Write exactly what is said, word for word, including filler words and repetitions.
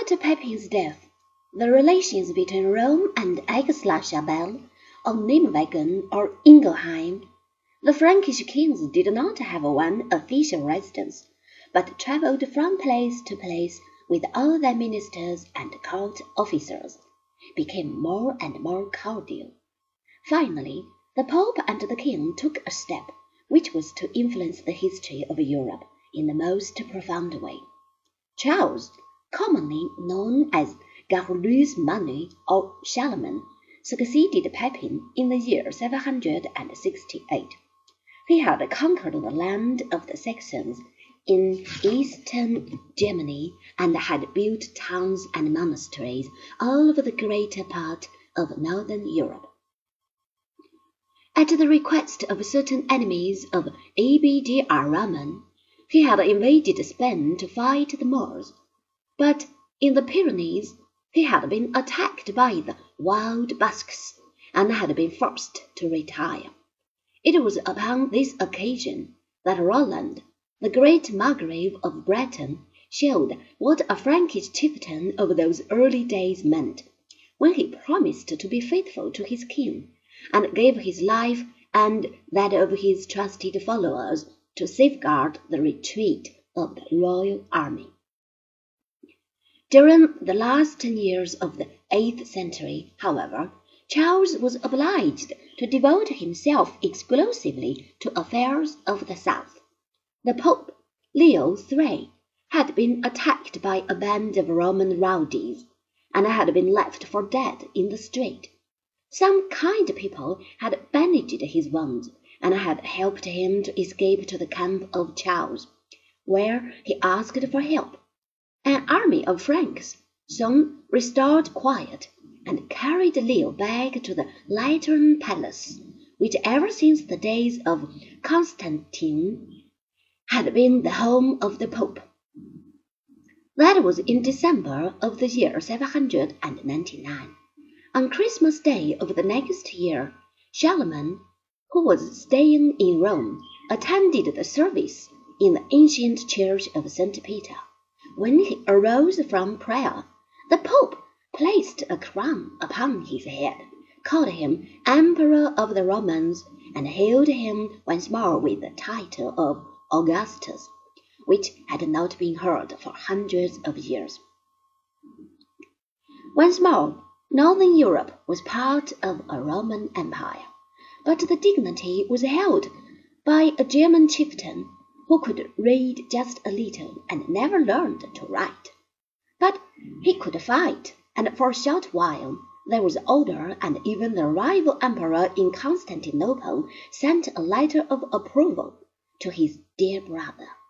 After Pepin's death, the relations between Rome and Aix-la-Chapelle, or Nijmegen or Ingelheim, the Frankish kings did not have one official residence, but travelled from place to place with all their ministers and court officers, became more and more cordial. Finally, the Pope and the King took a step which was to influence the history of Europe in the most profound way. Charles, commonly known as Garulus Manu or Charlemagne, succeeded Pepin in the year seven hundred sixty-eight. He had conquered the land of the Saxons in eastern Germany and had built towns and monasteries all over the greater part of northern Europe. At the request of certain enemies of Abd ar-Rahman, he had invaded Spain to fight the Moors, but in the Pyrenees he had been attacked by the wild Basques and had been forced to retire. It was upon this occasion that Roland, the great Margrave of Breton, showed what a Frankish chieftain of those early days meant, when he promised to be faithful to his king, and gave his life and that of his trusted followers to safeguard the retreat of the royal army. During the last ten years of the eighth century, however, Charles was obliged to devote himself exclusively to affairs of the south. The Pope, Leo the third, had been attacked by a band of Roman rowdies, and had been left for dead in the street. Some kind people had bandaged his wounds, and had helped him to escape to the camp of Charles, where he asked for help. An army of Franks soon restored quiet, and carried Leo back to the Lateran Palace, which ever since the days of Constantine had been the home of the Pope. That was in December of the year seven hundred ninety-nine. On Christmas Day of the next year, Charlemagne, who was staying in Rome, attended the service in the ancient church of Saint Peter. When he arose from prayer, the Pope placed a crown upon his head, called him Emperor of the Romans, and hailed him once more with the title of Augustus, which had not been heard for hundreds of years. Once more, Northern Europe was part of a Roman Empire, but the dignity was held by a German chieftain who could read just a little and never learned to write. But he could fight, and for a short while there was order, and even the rival emperor in Constantinople sent a letter of approval to his dear brother.